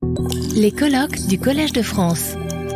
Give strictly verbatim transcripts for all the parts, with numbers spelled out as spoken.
Les colloques du Collège de France.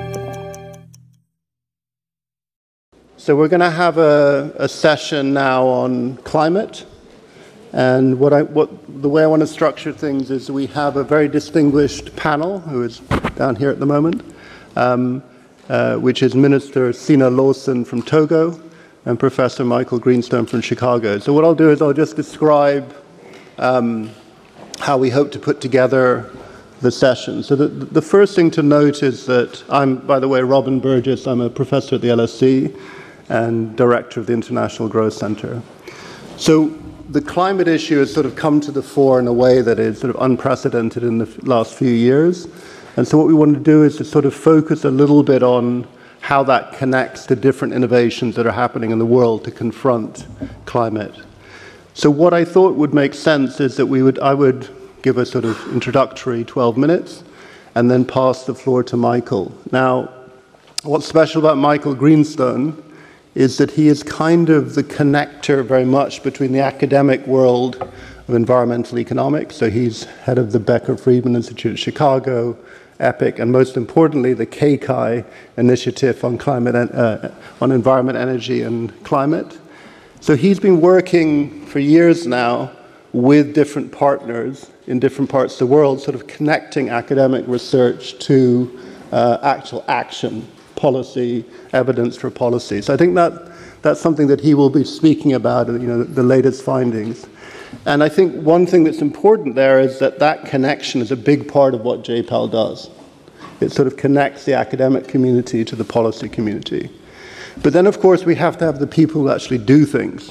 So we're going to have a, a session now on climate. And what I, what, the way I want to structure things is we have a very distinguished panel, who is down here at the moment, um, uh, which is Minister Sina Lawson from Togo and Professor Michael Greenstone from Chicago. So what I'll do is I'll just describe um, how we hope to put together the session. So the, the first thing to note is that I'm, by the way, Robin Burgess. I'm a professor at the L S E and director of the International Growth Center. So the climate issue has sort of come to the fore in a way that is sort of unprecedented in the last few years. And so what we want to do is to sort of focus a little bit on how that connects to different innovations that are happening in the world to confront climate. So what I thought would make sense is that we would, I would give a sort of introductory twelve minutes and then pass the floor to Michael. Now, what's special about Michael Greenstone is that he is kind of the connector very much between the academic world of environmental economics. So he's head of the Becker-Friedman Institute at Chicago, EPIC, and most importantly, the K C I initiative on climate, uh, on environment, energy, and climate. So he's been working for years now with different partners in different parts of the world, sort of connecting academic research to uh, actual action, policy, evidence for policy. So I think that that's something that he will be speaking about, you know, the latest findings. And I think one thing that's important there is that that connection is a big part of what J PAL does. It sort of connects the academic community to the policy community. But then, of course, we have to have the people who actually do things.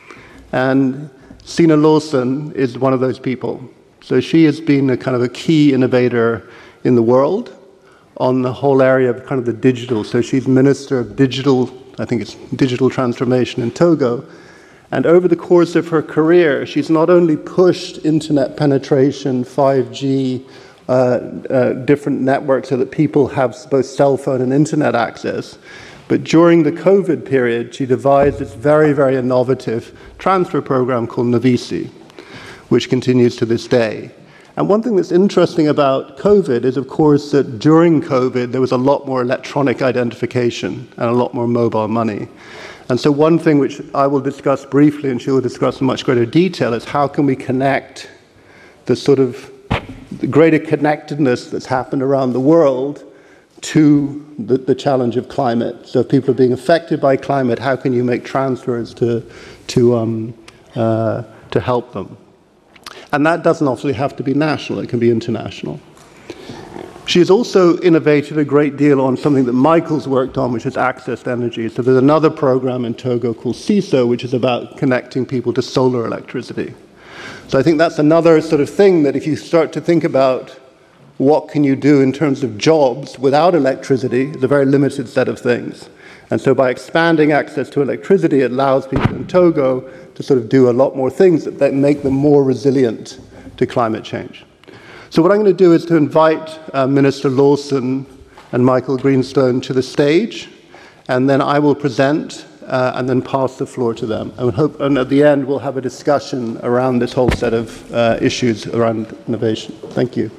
And Sina Lawson is one of those people. So she has been a kind of a key innovator in the world on the whole area of kind of the digital. So she's Minister of Digital, I think it's Digital Transformation in Togo. And over the course of her career, she's not only pushed internet penetration, five G, uh, uh, different networks so that people have both cell phone and internet access, but during the COVID period, she devised this very, very innovative transfer program called Navisi, which continues to this day. And one thing that's interesting about COVID is, of course, that during COVID, there was a lot more electronic identification and a lot more mobile money. And so one thing which I will discuss briefly, and she will discuss in much greater detail, is how can we connect the sort of the greater connectedness that's happened around the world to the, the challenge of climate. So if people are being affected by climate, how can you make transfers to, to, um, uh, to help them? And that doesn't obviously have to be national, it can be international. She has also innovated a great deal on something that Michael's worked on, which is access to energy. So there's another program in Togo called CISO, which is about connecting people to solar electricity. So I think that's another sort of thing that if you start to think about what can you do in terms of jobs without electricity, it's a very limited set of things. And so by expanding access to electricity, it allows people in Togo to sort of do a lot more things that, that make them more resilient to climate change. So what I'm going to do is to invite uh, Minister Lawson and Michael Greenstone to the stage, and then I will present uh, and then pass the floor to them. And, hope, and at the end, we'll have a discussion around this whole set of uh, issues around innovation. Thank you.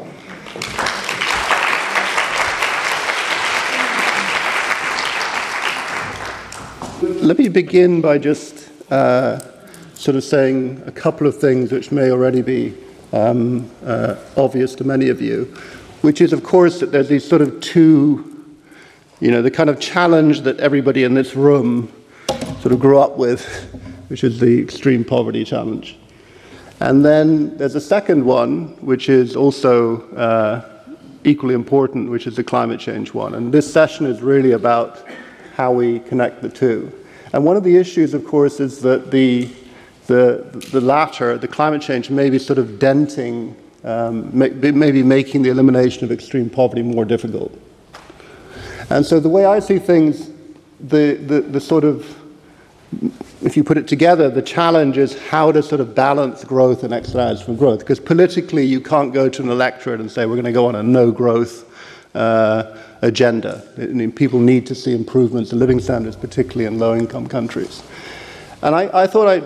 Let me begin by just uh, sort of saying a couple of things which may already be um, uh, obvious to many of you, which is, of course, that there's these sort of two, you know, the kind of challenge that everybody in this room sort of grew up with, which is the extreme poverty challenge. And then there's a second one, which is also uh, equally important, which is the climate change one. And this session is really about how we connect the two. And one of the issues, of course, is that the, the, the latter, the climate change, may be sort of denting, um, may, maybe making the elimination of extreme poverty more difficult. And so the way I see things, the, the, the sort of, if you put it together, the challenge is how to sort of balance growth and externalities from growth. Because politically, you can't go to an electorate and say, we're going to go on a no-growth uh, agenda. I mean, people need to see improvements in living standards, particularly in low-income countries. And I, I thought I'd,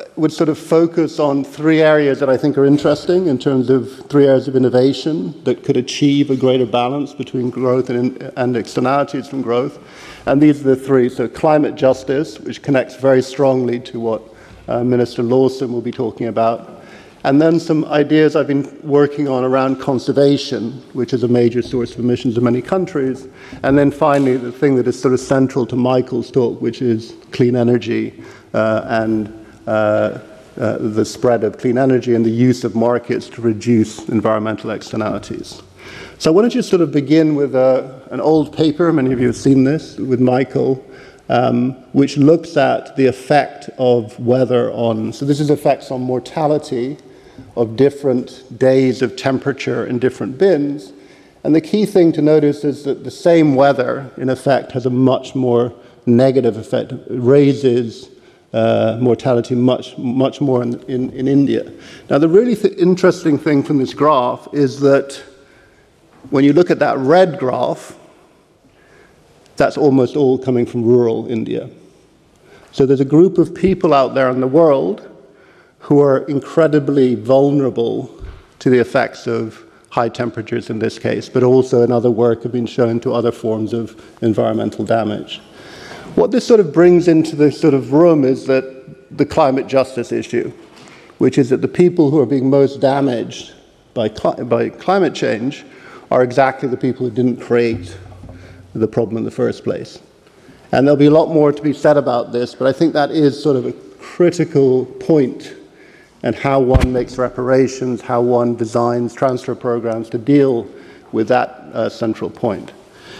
would sort of focus on three areas that I think are interesting in terms of three areas of innovation that could achieve a greater balance between growth and, and externalities from growth. And these are the three. So climate justice, which connects very strongly to what uh, Minister Lawson will be talking about. And then some ideas I've been working on around conservation, which is a major source of emissions in many countries. And then finally, the thing that is sort of central to Michael's talk, which is clean energy uh, and uh, uh, the spread of clean energy and the use of markets to reduce environmental externalities. So I want to just sort of begin with a, an old paper, many of you have seen this, with Michael, um, which looks at the effect of weather on, so this is effects on mortality of different days of temperature in different bins. And the key thing to notice is that the same weather, in effect, has a much more negative effect. It raises uh, mortality much, much more in, in, in India. Now, the really th- interesting thing from this graph is that when you look at that red graph, that's almost all coming from rural India. So there's a group of people out there in the world who are incredibly vulnerable to the effects of high temperatures in this case, but also in other work have been shown to other forms of environmental damage. What this sort of brings into the sort of room is that the climate justice issue, which is that the people who are being most damaged by, cli- by climate change are exactly the people who didn't create the problem in the first place. And there'll be a lot more to be said about this, but I think that is sort of a critical point and how one makes reparations, how one designs transfer programs to deal with that uh, central point.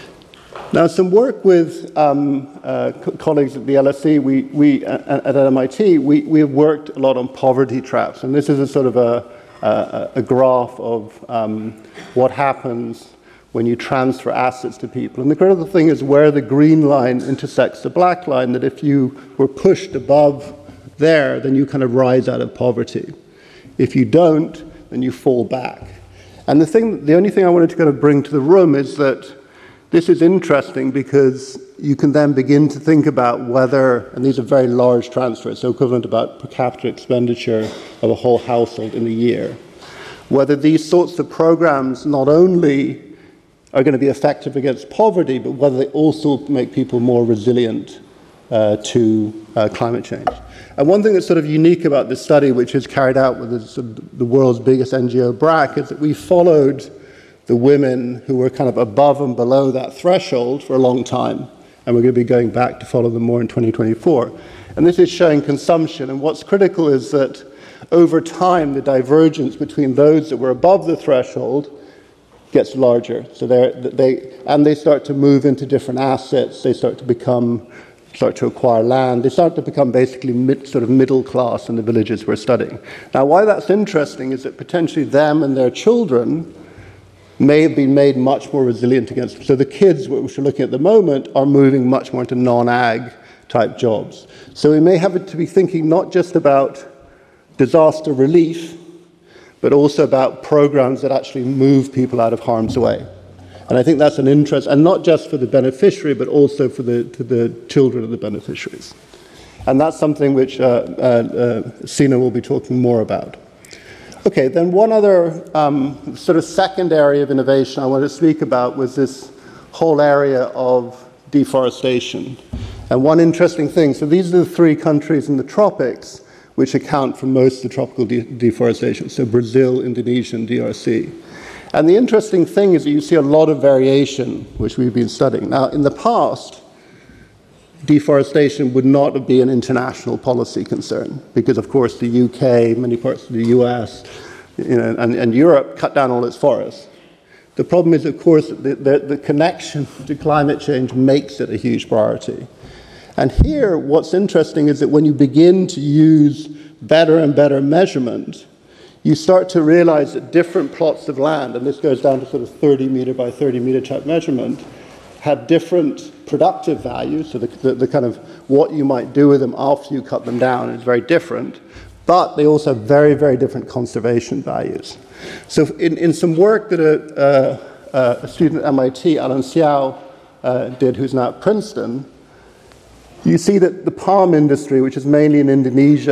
Now, some work with um, uh, co- colleagues at the L S E, we, we uh, at M I T, we, we have worked a lot on poverty traps, and this is a sort of a, a, a graph of um, what happens when you transfer assets to people. And the critical thing is where the green line intersects the black line, that if you were pushed above there, then you kind of rise out of poverty. If you don't, then you fall back. And the thing, the only thing I wanted to kind of bring to the room is that this is interesting because you can then begin to think about whether, and these are very large transfers, so equivalent about per capita expenditure of a whole household in a year, whether these sorts of programs not only are going to be effective against poverty, but whether they also make people more resilient uh, to uh, climate change. And one thing that's sort of unique about this study, which is carried out with the, sort of the world's biggest N G O, B R A C, is that we followed the women who were kind of above and below that threshold for a long time. And we're going to be going back to follow them more in twenty twenty-four. And this is showing consumption. And what's critical is that over time, the divergence between those that were above the threshold gets larger. So they're, they, and they start to move into different assets. They start to become start to acquire land. They start to become basically mid, sort of middle class in the villages we're studying. Now, why that's interesting is that potentially them and their children may have been made much more resilient against. So the kids, which we're looking at the moment, are moving much more into non-ag type jobs. So we may have to be thinking not just about disaster relief, but also about programs that actually move people out of harm's way. And I think that's an interest, and not just for the beneficiary, but also for the, to the children of the beneficiaries. And that's something which uh, uh, uh, Sina will be talking more about. Okay, then one other um, sort of second area of innovation I want to speak about was this whole area of deforestation. And one interesting thing, so these are the three countries in the tropics which account for most of the tropical de- deforestation, so Brazil, Indonesia, and D R C. And the interesting thing is that you see a lot of variation, which we've been studying. Now, in the past, deforestation would not be an international policy concern, because, of course, the U K, many parts of the U S, you know, and, and Europe cut down all its forests. The problem is, of course, the, the, the connection to climate change makes it a huge priority. And here, what's interesting is that when you begin to use better and better measurement, you start to realize that different plots of land, and this goes down to sort of thirty meter by thirty meter type measurement, have different productive values, so the, the, the kind of what you might do with them after you cut them down is very different, but they also have very, very different conservation values. So in, in some work that a, uh, a student at M I T, Alan Xiao, uh, did, who's now at Princeton, you see that the palm industry, which is mainly in Indonesia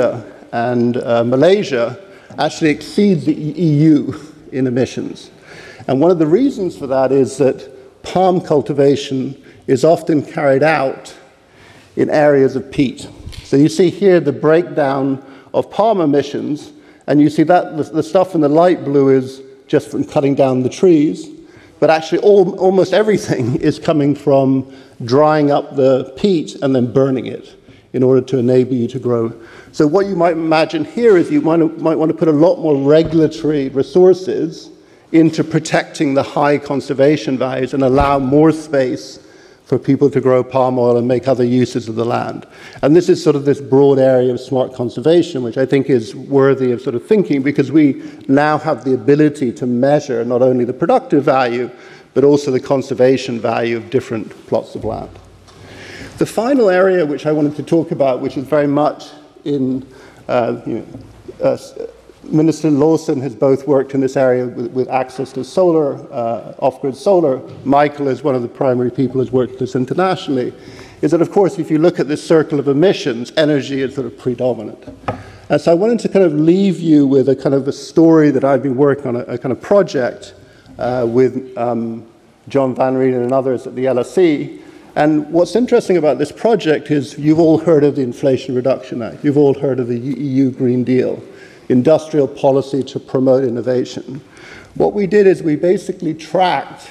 and uh, Malaysia actually exceeds the E U in emissions. And one of the reasons for that is that palm cultivation is often carried out in areas of peat. So you see here the breakdown of palm emissions, and you see that the, the stuff in the light blue is just from cutting down the trees, but actually all, almost everything is coming from drying up the peat and then burning it in order to enable you to grow. So what you might imagine here is you might, might want to put a lot more regulatory resources into protecting the high conservation values and allow more space for people to grow palm oil and make other uses of the land. And this is sort of this broad area of smart conservation, which I think is worthy of sort of thinking, because we now have the ability to measure not only the productive value, but also the conservation value of different plots of land. The final area which I wanted to talk about, which is very much in, uh, you know, uh, Minister Lawson has both worked in this area with, with access to solar, uh, off-grid solar. Michael is one of the primary people who's worked this internationally, is that, of course, if you look at this circle of emissions, energy is sort of predominant. And so I wanted to kind of leave you with a kind of a story that I've been working on, a, a kind of project uh, with um, John Van Rienen and others at the L S E. And what's interesting about this project is you've all heard of the Inflation Reduction Act. You've all heard of the E U Green Deal, industrial policy to promote innovation. What we did is we basically tracked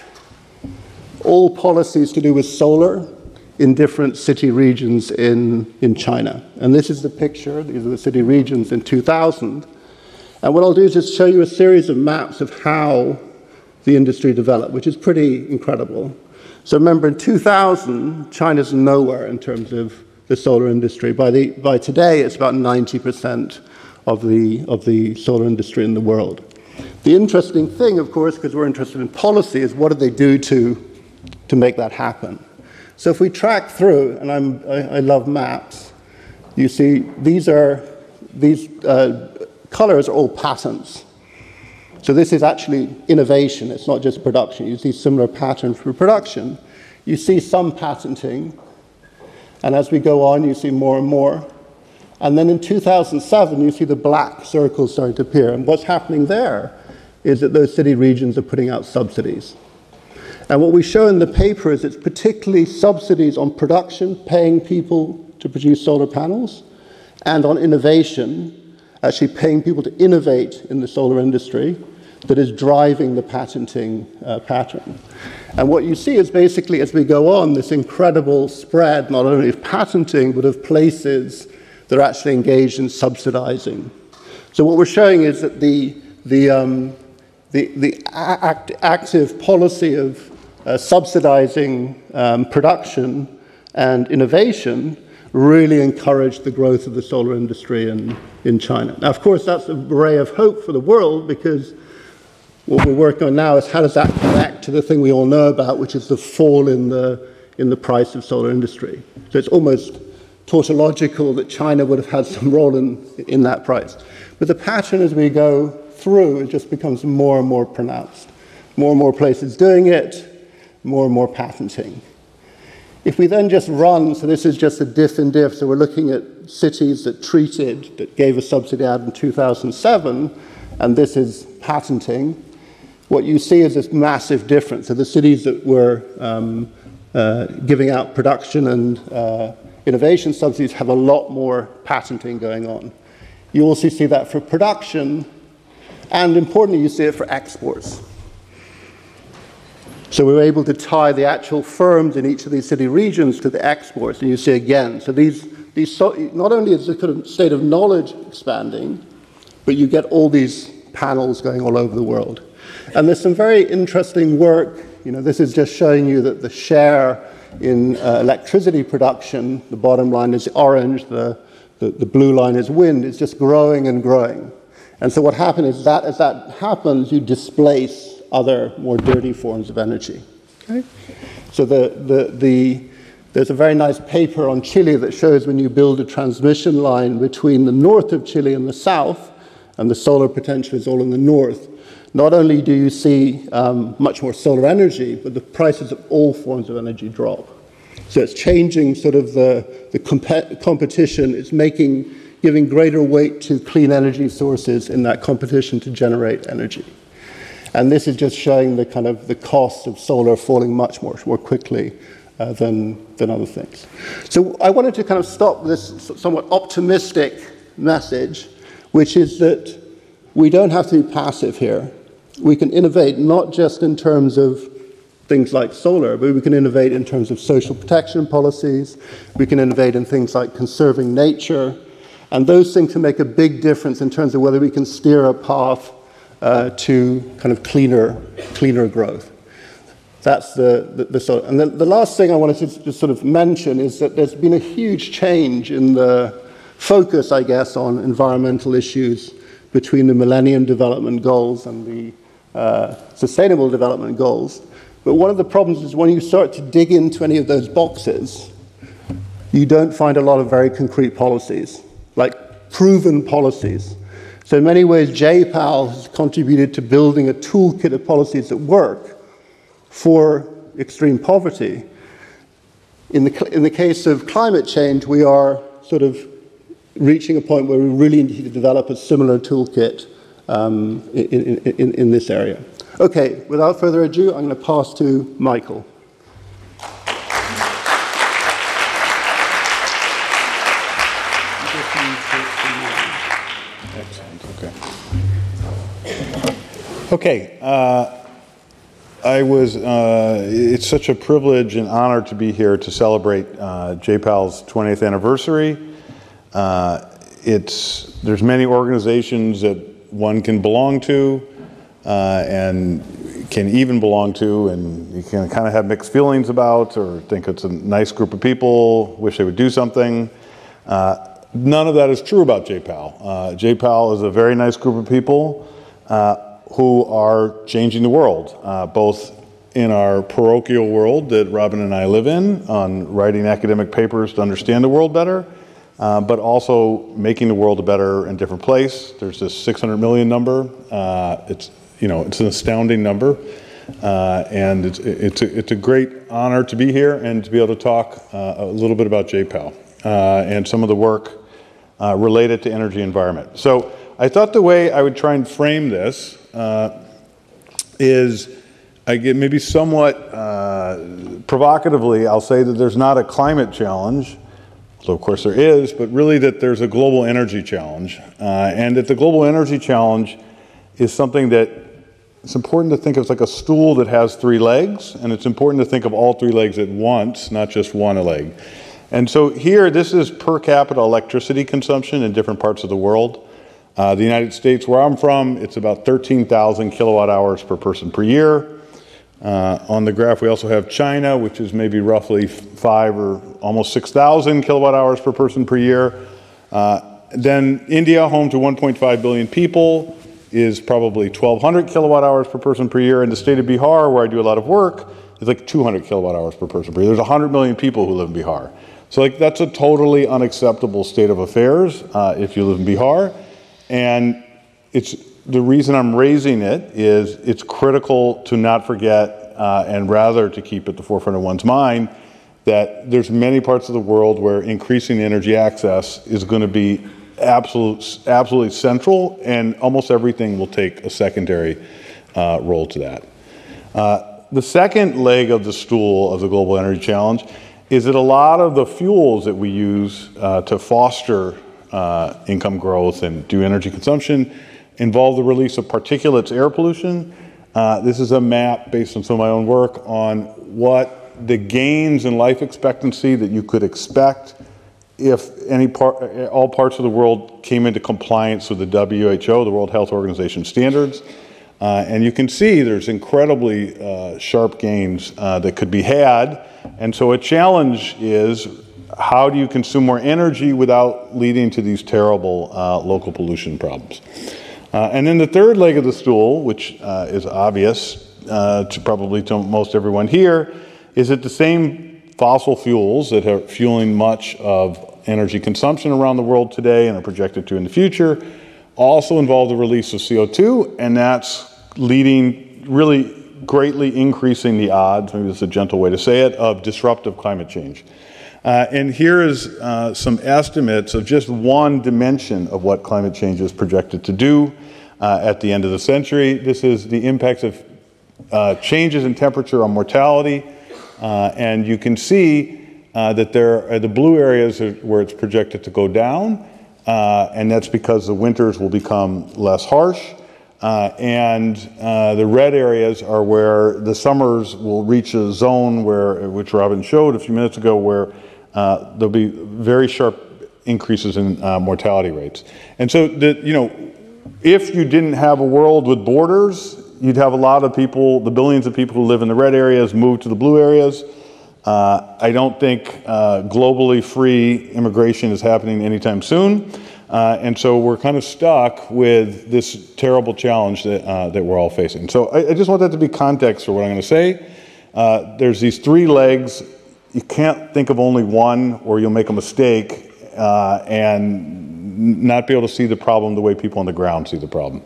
all policies to do with solar in different city regions in, in China. And this is the picture. These are the city regions in two thousand. And what I'll do is just show you a series of maps of how the industry developed, which is pretty incredible. So remember, in two thousand, China's nowhere in terms of the solar industry. By, the, by today, it's about ninety percent of the, of the solar industry in the world. The interesting thing, of course, because we're interested in policy, is what do they do to, to make that happen? So if we track through, and I'm, I, I love maps, you see these are, these uh, colors are all patents. So this is actually innovation, it's not just production. You see similar patterns for production. You see some patenting, and as we go on, you see more and more. And then in two thousand seven, you see the black circles starting to appear. And what's happening there is that those city regions are putting out subsidies. And what we show in the paper is it's particularly subsidies on production, paying people to produce solar panels, and on innovation, actually paying people to innovate in the solar industry, that is driving the patenting uh, pattern. And what you see is basically, as we go on, this incredible spread, not only of patenting, but of places that are actually engaged in subsidizing. So what we're showing is that the, the, um, the, the act, active policy of uh, subsidizing um, production and innovation really encouraged the growth of the solar industry in, in China. Now, of course, that's a ray of hope for the world, because what we're working on now is how does that connect to the thing we all know about, which is the fall in the, in the price of solar industry. So it's almost tautological that China would have had some role in, in that price. But the pattern as we go through, it just becomes more and more pronounced. More and more places doing it, more and more patenting. If we then just run, so this is just a diff in diff, so we're looking at cities that treated, that gave a subsidy out in two thousand seven, and this is patenting. What you see is this massive difference. So the cities that were um, uh, giving out production and uh, innovation subsidies have a lot more patenting going on. You also see that for production, and importantly, you see it for exports. So we were able to tie the actual firms in each of these city regions to the exports, and you see again. So these, these so, not only is the kind of state of knowledge expanding, but you get all these panels going all over the world. And there's some very interesting work. You know, this is just showing you that the share in uh, electricity production, the bottom line is orange, the, the, the blue line is wind, it's just growing and growing. And so what happens is that as that happens, you displace other more dirty forms of energy. Okay? So the, the, the, there's a very nice paper on Chile that shows when you build a transmission line between the north of Chile and the south, and the solar potential is all in the north, not only do you see um, much more solar energy, but the prices of all forms of energy drop. So it's changing sort of the, the comp competition. It's making giving greater weight to clean energy sources in that competition to generate energy. And this is just showing the kind of the cost of solar falling much more, more quickly uh, than, than other things. So I wanted to kind of stop this somewhat optimistic message, which is that we don't have to be passive here. We can innovate not just in terms of things like solar, but we can innovate in terms of social protection policies. We can innovate in things like conserving nature. And those things can make a big difference in terms of whether we can steer a path uh, to kind of cleaner, cleaner growth. That's the, the, the sort of, and the, the last thing I wanted to just sort of mention is that there's been a huge change in the focus, I guess, on environmental issues between the Millennium Development Goals and the uh, Sustainable Development Goals. But one of the problems is when you start to dig into any of those boxes, you don't find a lot of very concrete policies, like proven policies. So in many ways, J PAL has contributed to building a toolkit of policies that work for extreme poverty. In the, in the case of climate change, we are sort of reaching a point where we really need to develop a similar toolkit um, in, in, in this area. Okay, without further ado, I'm going to pass to Michael. Excellent, okay. Okay, uh, I was, uh, it's such a privilege and honor to be here to celebrate uh, J PAL's twentieth anniversary. Uh, it's, there's many organizations that one can belong to uh, and can even belong to, and you can kind of have mixed feelings about or think it's a nice group of people, wish they would do something. Uh, none of that is true about J PAL. Uh, J PAL is a very nice group of people uh, who are changing the world, uh, both in our parochial world that Robin and I live in, on writing academic papers to understand the world better, Uh, but also making the world a better and different place. There's this six hundred million number. Uh, it's, you know, it's an astounding number. Uh, and it's, it's, a, it's a great honor to be here and to be able to talk uh, a little bit about J PAL uh, and some of the work uh, related to energy environment. So I thought the way I would try and frame this uh, is, I get maybe somewhat uh, provocatively, I'll say that there's not a climate challenge. So of course there is, but really that there's a global energy challenge. Uh, and that the global energy challenge is something that it's important to think of as like a stool that has three legs, and it's important to think of all three legs at once, not just one leg. And so here, this is per capita electricity consumption in different parts of the world. Uh, the United States, where I'm from, it's about thirteen thousand kilowatt hours per person per year. Uh, on the graph, we also have China, which is maybe roughly five or almost six thousand kilowatt hours per person per year. Uh, then India, home to one point five billion people, is probably twelve hundred kilowatt hours per person per year. And the state of Bihar, where I do a lot of work, is like two hundred kilowatt hours per person per year. There's one hundred million people who live in Bihar. So like that's a totally unacceptable state of affairs uh, if you live in Bihar. And it's the reason I'm raising it is it's critical to not forget uh, and rather to keep at the forefront of one's mind that there's many parts of the world where increasing energy access is going to be absolute, absolutely central, and almost everything will take a secondary uh, role to that. Uh, the second leg of the stool of the global energy challenge is that a lot of the fuels that we use uh, to foster uh, income growth and do energy consumption involve the release of particulates, air pollution. Uh, this is a map based on some of my own work on what the gains in life expectancy that you could expect if any part, all parts of the world came into compliance with the W H O, the World Health Organization standards. Uh, and you can see there's incredibly uh, sharp gains uh, that could be had. And so a challenge is, how do you consume more energy without leading to these terrible uh, local pollution problems? Uh, and then the third leg of the stool, which uh, is obvious uh, to probably to most everyone here, is that the same fossil fuels that are fueling much of energy consumption around the world today and are projected to in the future also involve the release of C O two, and that's leading, really greatly increasing the odds, maybe that's a gentle way to say it, of disruptive climate change. Uh, and here is uh, some estimates of just one dimension of what climate change is projected to do uh, at the end of the century. This is the impacts of uh, changes in temperature on mortality. Uh, and you can see uh, that there are the blue areas are where it's projected to go down. Uh, and that's because the winters will become less harsh. Uh, and uh, the red areas are where the summers will reach a zone where, which Robin showed a few minutes ago, where uh, there'll be very sharp increases in uh, mortality rates. And so, the, you know, if you didn't have a world with borders, you'd have a lot of people, the billions of people who live in the red areas, move to the blue areas. Uh, I don't think uh, globally free immigration is happening anytime soon. Uh, and so we're kind of stuck with this terrible challenge that, uh, that we're all facing. So I, I just want that to be context for what I'm going to say. Uh, there's these three legs. You can't think of only one or you'll make a mistake uh, and not be able to see the problem the way people on the ground see the problem.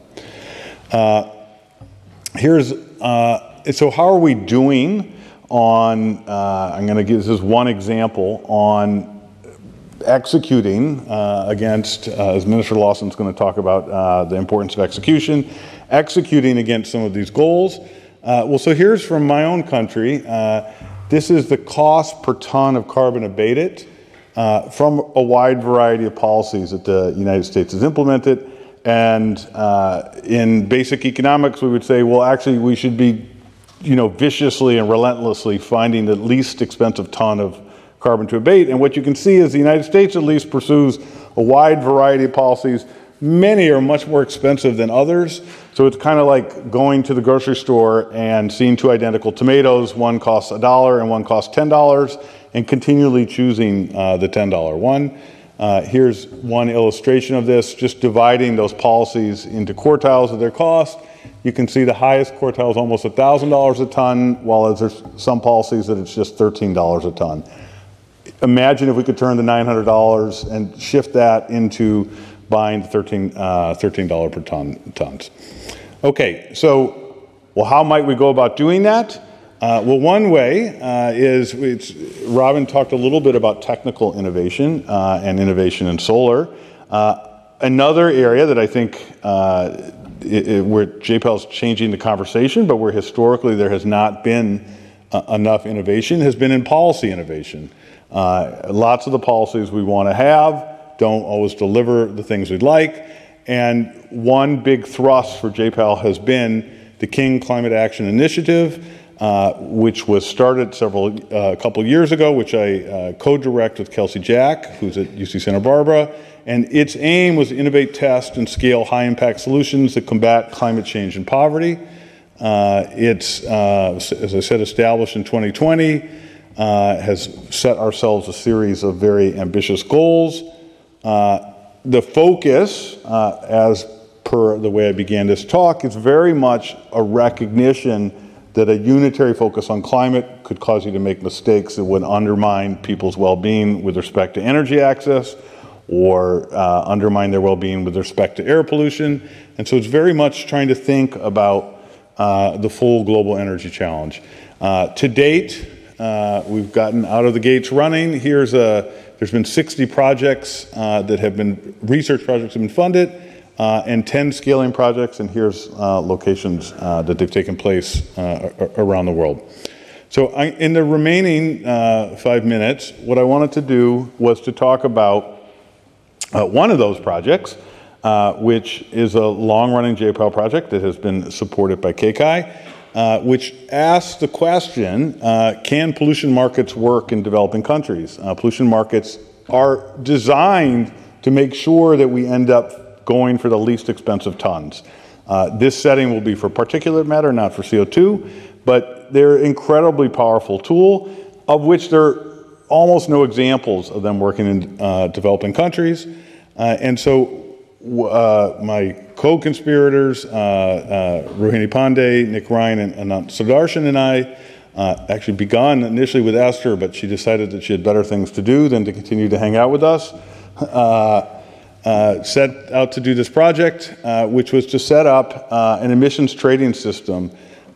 Uh, here's, uh, so how are we doing on, uh, I'm going to give this is one example on executing uh, against, uh, as Minister Lawson's going to talk about uh, the importance of execution, executing against some of these goals. Uh, well, so here's from my own country. Uh, this is the cost per ton of carbon abated uh, from a wide variety of policies that the United States has implemented. And uh, in basic economics, we would say, well, actually, we should be, you know, viciously and relentlessly finding the least expensive ton of carbon to abate. And what you can see is the United States at least pursues a wide variety of policies. Many are much more expensive than others. So it's kind of like going to the grocery store and seeing two identical tomatoes. One costs a dollar and one costs ten dollars, and continually choosing uh, the ten dollar one. Uh, here's one illustration of this, just dividing those policies into quartiles of their cost. You can see the highest quartile is almost one thousand dollars a ton, while there's some policies that it's just thirteen dollars a ton. Imagine if we could turn the nine hundred dollars and shift that into buying thirteen dollars per ton tons. Okay, so, well, how might we go about doing that? Uh, well, one way uh, is, it's, Robin talked a little bit about technical innovation uh, and innovation in solar. Uh, another area that I think uh, it, it, where J PAL is changing the conversation, but where historically there has not been uh, enough innovation, has been in policy innovation. Uh, lots of the policies we want to have don't always deliver the things we'd like. And one big thrust for J PAL has been the King Climate Action Initiative, uh, which was started several, uh, a couple years ago, which I uh, co-direct with Kelsey Jack, who's at U C Santa Barbara. And its aim was to innovate, test, and scale high-impact solutions that combat climate change and poverty. Uh, it's, uh, as I said, established in twenty twenty. Uh, has set ourselves a series of very ambitious goals. Uh, the focus, uh, as per the way I began this talk, is very much a recognition that a unitary focus on climate could cause you to make mistakes that would undermine people's well-being with respect to energy access, or uh, undermine their well-being with respect to air pollution. And so it's very much trying to think about uh, the full global energy challenge. Uh, to date, Uh, we've gotten out of the gates running. Here's a, there's been sixty projects uh, that have been, research projects have been funded, uh, and ten scaling projects, and here's uh, locations uh, that they've taken place uh, around the world. So I, in the remaining uh, five minutes, what I wanted to do was to talk about uh, one of those projects, uh, which is a long-running J PAL project that has been supported by K C I. Uh, which asks the question, uh, can pollution markets work in developing countries? Uh, pollution markets are designed to make sure that we end up going for the least expensive tons. Uh, this setting will be for particulate matter, not for C O two, but they're an incredibly powerful tool, of which there are almost no examples of them working in uh, developing countries. Uh, and so uh, my co-conspirators, uh, uh, Rohini Pandey, Nick Ryan, and Anant Sudarshan and I uh, actually begun initially with Esther, but she decided that she had better things to do than to continue to hang out with us. Uh, uh, set out to do this project, uh, which was to set up uh, an emissions trading system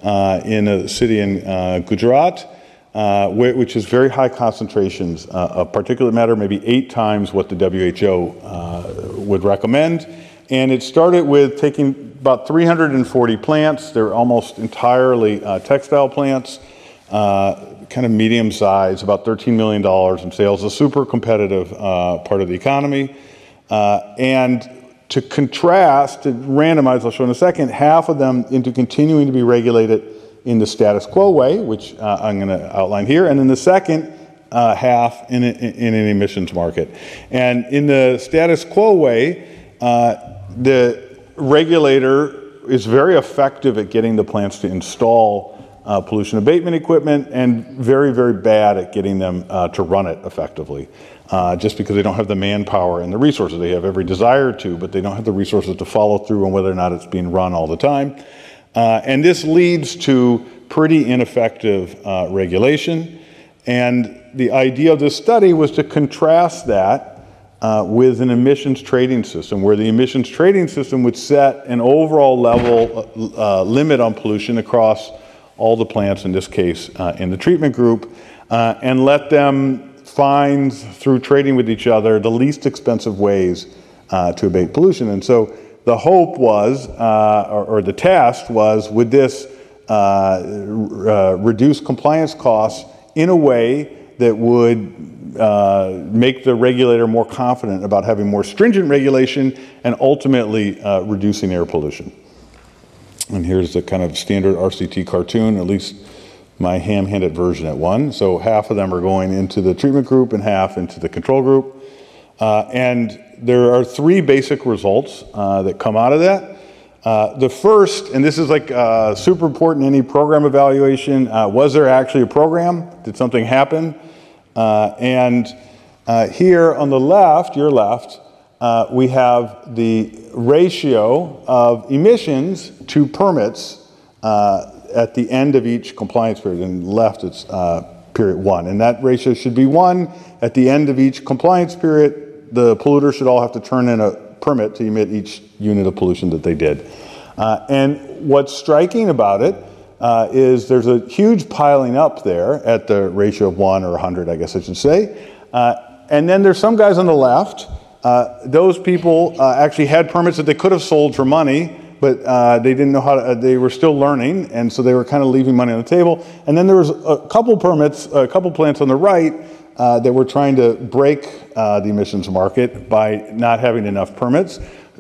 uh, in a city in uh, Gujarat, uh, which is very high concentrations uh, of particulate matter, maybe eight times what the W H O uh, would recommend. And it started with taking about three hundred forty plants. They're almost entirely uh, textile plants, uh, kind of medium size, about thirteen million dollars in sales, a super competitive uh, part of the economy. Uh, and to contrast, to randomize, I'll show in a second, half of them into continuing to be regulated in the status quo way, which uh, I'm going to outline here, and then the second uh, half in, a, in an emissions market. And in the status quo way, uh, the regulator is very effective at getting the plants to install uh, pollution abatement equipment and very, very bad at getting them uh, to run it effectively. Uh, just because they don't have the manpower and the resources. They have every desire to, but they don't have the resources to follow through on whether or not it's being run all the time. Uh, and this leads to pretty ineffective uh, regulation. And the idea of this study was to contrast that uh, with an emissions trading system, where the emissions trading system would set an overall level uh, limit on pollution across all the plants, in this case, uh, in the treatment group, uh, and let them find, through trading with each other, the least expensive ways uh, to abate pollution. And so the hope was, uh, or, or the test was, would this uh, uh, reduce compliance costs in a way that would uh, make the regulator more confident about having more stringent regulation and ultimately uh, reducing air pollution. And here's the kind of standard R C T cartoon, at least my ham-handed version at one. So half of them are going into the treatment group and half into the control group. Uh, and there are three basic results uh, that come out of that. Uh, the first, and this is like uh, super important in any program evaluation, uh, was there actually a program? Did something happen? Uh, and uh, here on the left, your left, uh, we have the ratio of emissions to permits uh, at the end of each compliance period. And left, it's uh, period one. And that ratio should be one. At the end of each compliance period, the polluter should all have to turn in a permit to emit each unit of pollution that they did. Uh, and what's striking about it uh, is there's a huge piling up there at the ratio of one or one hundred, I guess I should say. Uh, and then there's some guys on the left. Uh, those people uh, actually had permits that they could have sold for money, but uh, they didn't know how to, uh, they were still learning, and so they were kind of leaving money on the table. And then there was a couple permits, a couple plants on the right uh, that were trying to break uh, the emissions market by not having enough permits.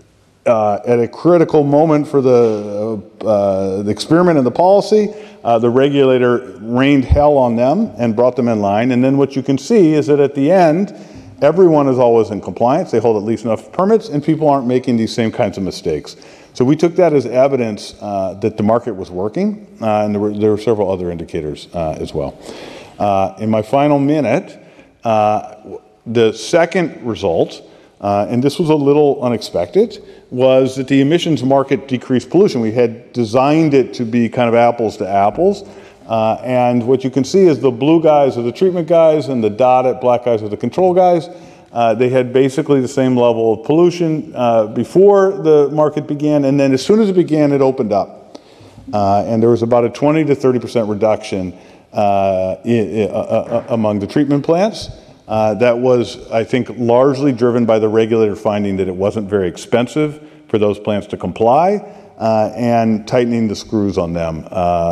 Uh, at a critical moment for the, uh, the experiment and the policy, uh, the regulator rained hell on them and brought them in line. And then what you can see is that at the end, everyone is always in compliance. They hold at least enough permits, and people aren't making these same kinds of mistakes. So we took that as evidence uh, that the market was working, uh, and there were, there were several other indicators uh, as well. Uh, in my final minute, uh, the second result, uh, and this was a little unexpected, was that the emissions market decreased pollution. We had designed it to be kind of apples to apples. Uh, and what you can see is the blue guys are the treatment guys and the dotted black guys are the control guys. Uh, they had basically the same level of pollution uh, before the market began, and then as soon as it began, it opened up. Uh, and there was about a twenty to thirty percent reduction uh, in, uh, uh, among the treatment plants. Uh, that was, I think, largely driven by the regulator finding that it wasn't very expensive for those plants to comply, uh, and tightening the screws on them uh,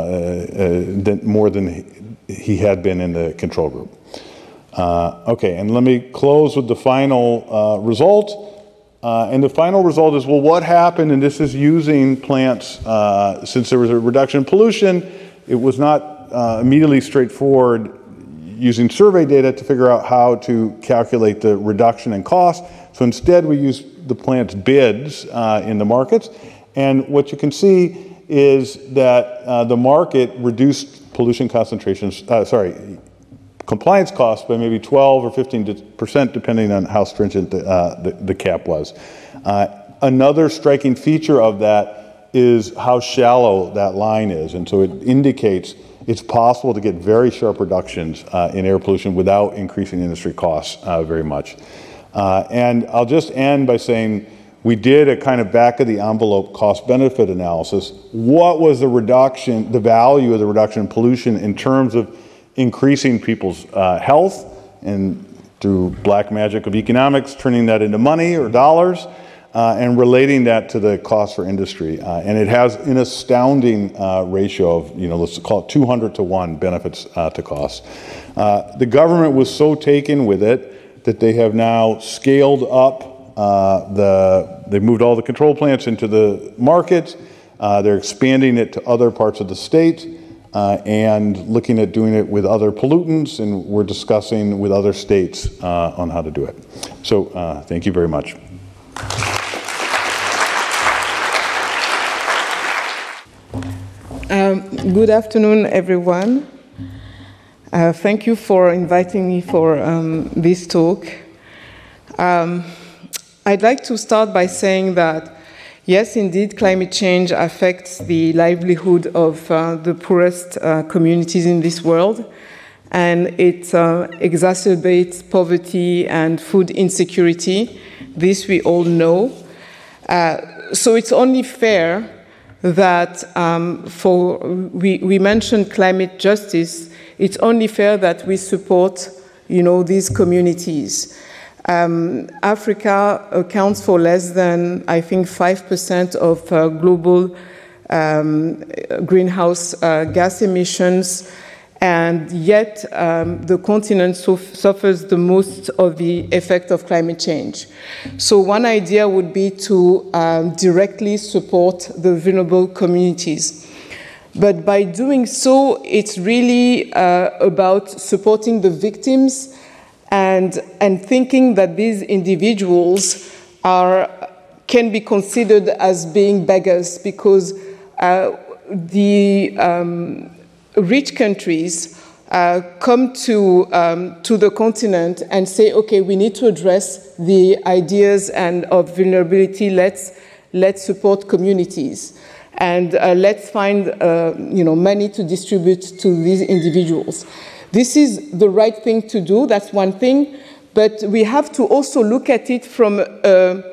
uh, more than he had been in the control group. Uh, okay, and let me close with the final uh, result. Uh, and the final result is, well, what happened? And this is using plants, uh, since there was a reduction in pollution, it was not uh, immediately straightforward using survey data to figure out how to calculate the reduction in cost. So instead, we used the plant's bids uh, in the markets. And what you can see is that uh, the market reduced pollution concentrations, uh, sorry, compliance costs by maybe twelve or fifteen percent, depending on how stringent the, uh, the, the cap was. Uh, another striking feature of that is how shallow that line is. And so it indicates it's possible to get very sharp reductions uh, in air pollution without increasing industry costs uh, very much. Uh, and I'll just end by saying we did a kind of back-of-the-envelope cost-benefit analysis. What was the reduction, the value of the reduction in pollution in terms of increasing people's uh, health, and through black magic of economics, turning that into money or dollars, uh, and relating that to the cost for industry. Uh, and it has an astounding uh, ratio of, you know, let's call it two hundred to one benefits uh, to costs. Uh, the government was so taken with it that they have now scaled up uh, the, they've moved all the control plants into the market. Uh, they're expanding it to other parts of the state. Uh, and looking at doing it with other pollutants, and we're discussing with other states uh, on how to do it. So uh, thank you very much. Um, good afternoon, everyone. Uh, thank you for inviting me for um, this talk. Um, I'd like to start by saying that yes, indeed, climate change affects the livelihood of uh, the poorest uh, communities in this world, and it uh, exacerbates poverty and food insecurity. This we all know. Uh, so it's only fair that um, for, we, we mentioned climate justice, it's only fair that we support, you know, these communities. Um, Africa accounts for less than, I think, five percent of uh, global um, greenhouse uh, gas emissions, and yet um, the continent so suffers the most of the effect of climate change. So one idea would be to um, directly support the vulnerable communities. But by doing so, it's really uh, about supporting the victims And, and thinking that these individuals are, can be considered as being beggars, because uh, the um, rich countries uh, come to, um, to the continent and say, okay, we need to address the ideas and of vulnerability, let's, let's support communities. And uh, let's find uh, you know, money to distribute to these individuals. This is the right thing to do, that's one thing, but we have to also look at it from a,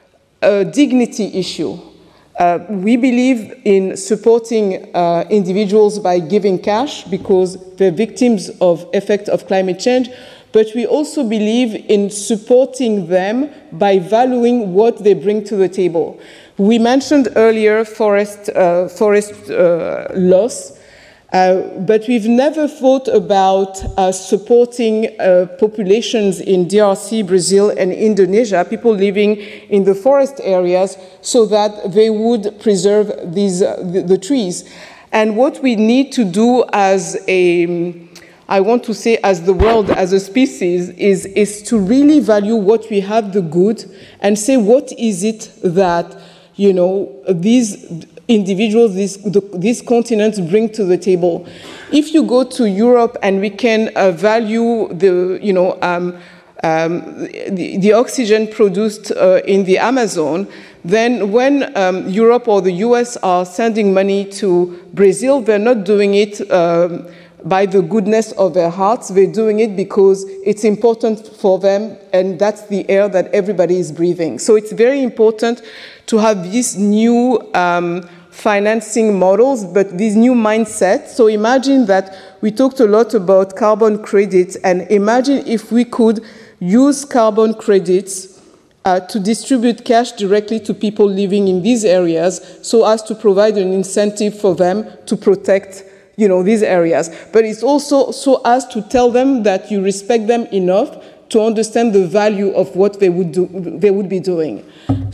a dignity issue. Uh, we believe in supporting uh, individuals by giving cash because they're victims of effect of climate change, but we also believe in supporting them by valuing what they bring to the table. We mentioned earlier forest, uh, forest uh, loss. Uh, but we've never thought about uh, supporting uh, populations in D R C, Brazil, and Indonesia, people living in the forest areas, so that they would preserve these, uh, the, the trees. And what we need to do as a, I want to say as the world, as a species, is, is to really value what we have, the good, and say what is it that, you know, these individuals, these, the, these continents bring to the table. If you go to Europe and we can uh, value the, you know, um, um, the, the oxygen produced uh, in the Amazon, then when um, Europe or the U S are sending money to Brazil, they're not doing it um, by the goodness of their hearts. They're doing it because it's important for them, and that's the air that everybody is breathing. So it's very important to have these new um, financing models, but these new mindsets. So imagine that we talked a lot about carbon credits, and imagine if we could use carbon credits uh, to distribute cash directly to people living in these areas, so as to provide an incentive for them to protect, you know, these areas. But it's also so as to tell them that you respect them enough to understand the value of what they would do, they would be doing.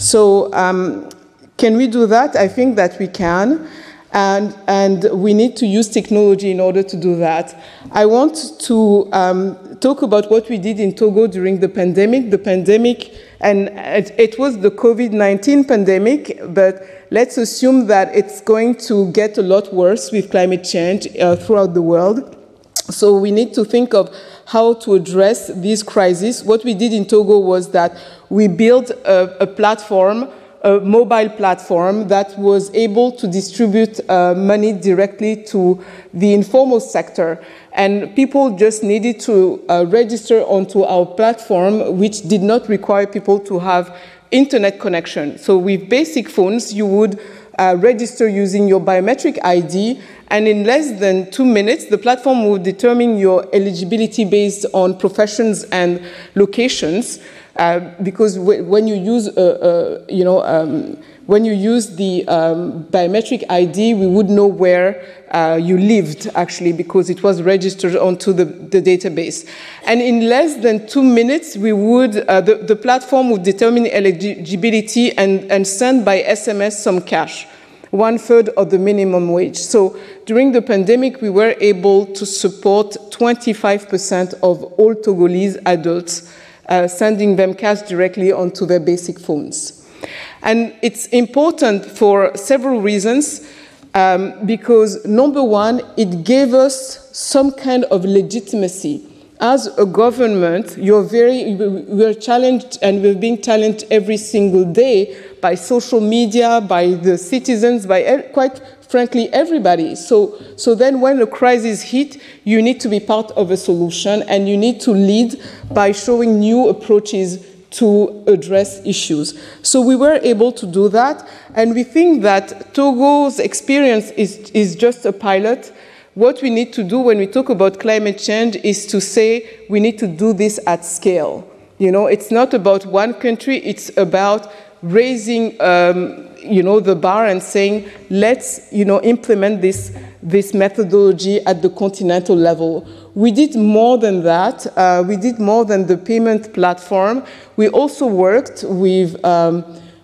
So um, can we do that? I think that we can, and and we need to use technology in order to do that. I want to um, talk about what we did in Togo during the pandemic. The pandemic, and it, it was the COVID nineteen pandemic, but let's assume that it's going to get a lot worse with climate change uh, throughout the world. So we need to think of how to address this crisis. What we did in Togo was that we built a, a platform, a mobile platform that was able to distribute uh, money directly to the informal sector. And people just needed to uh, register onto our platform, which did not require people to have internet connection. So with basic phones, you would uh, register using your biometric I D, and in less than two minutes, the platform will determine your eligibility based on professions and locations. Uh, because w when you use, uh, uh, you know, um, when you use the um, biometric I D, we would know where uh, you lived, actually, because it was registered onto the, the database. And in less than two minutes, we would, uh, the, the platform would determine eligibility and, and send by S M S some cash, one third of the minimum wage. So during the pandemic, we were able to support twenty-five percent of all Togolese adults, uh, sending them cash directly onto their basic phones. And it's important for several reasons, um, because number one, it gave us some kind of legitimacy. As a government, you're very, we're challenged, and we're being challenged every single day by social media, by the citizens, by quite frankly everybody. So, so then when a crisis hits, you need to be part of a solution, and you need to lead by showing new approaches to address issues. So we were able to do that, and we think that Togo's experience is, is just a pilot. What we need to do when we talk about climate change is to say we need to do this at scale. You know, it's not about one country, it's about raising um, you know, the bar and saying, let's, you know, implement this, this methodology at the continental level. We did more than that. Uh, we did more than the payment platform. We also worked with um,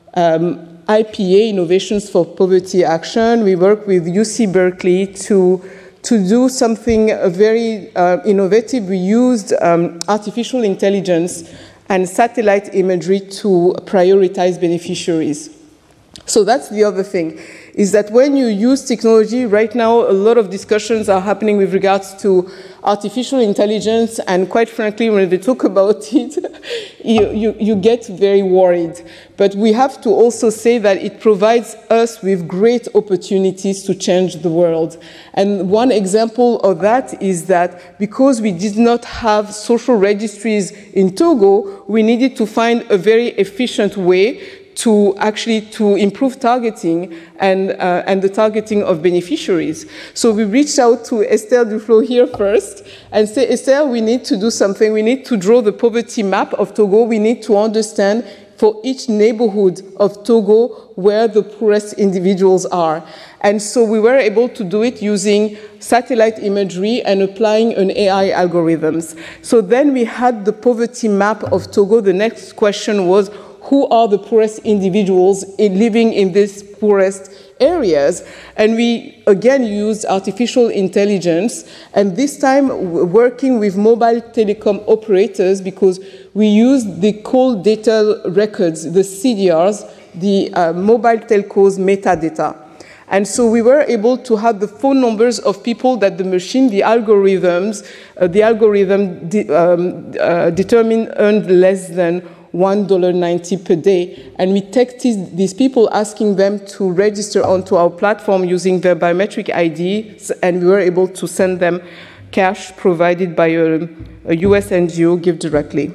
um, I P A, Innovations for Poverty Action. We worked with U C Berkeley to, to do something very uh, innovative. We used um, artificial intelligence and satellite imagery to prioritize beneficiaries. So that's the other thing, is that when you use technology, right now a lot of discussions are happening with regards to artificial intelligence, and quite frankly, when they talk about it, you, you, you get very worried. But we have to also say that it provides us with great opportunities to change the world. And one example of that is that because we did not have social registries in Togo, we needed to find a very efficient way to actually to improve targeting and, uh, and the targeting of beneficiaries. So we reached out to Esther Duflo here first and said, Esther, we need to do something. We need to draw the poverty map of Togo. We need to understand for each neighborhood of Togo where the poorest individuals are. And so we were able to do it using satellite imagery and applying an A I algorithms. So then we had the poverty map of Togo. The next question was, who are the poorest individuals in living in these poorest areas? And we, again, used artificial intelligence, and this time working with mobile telecom operators, because we used the call data records, the C D Rs, the uh, mobile telcos metadata. And so we were able to have the phone numbers of people that the machine, the algorithms, uh, the algorithm de um, uh, determined earned less than one dollar ninety per day. And we texted these people asking them to register onto our platform using their biometric I Ds, and we were able to send them cash provided by a, a U S N G O, Give Directly.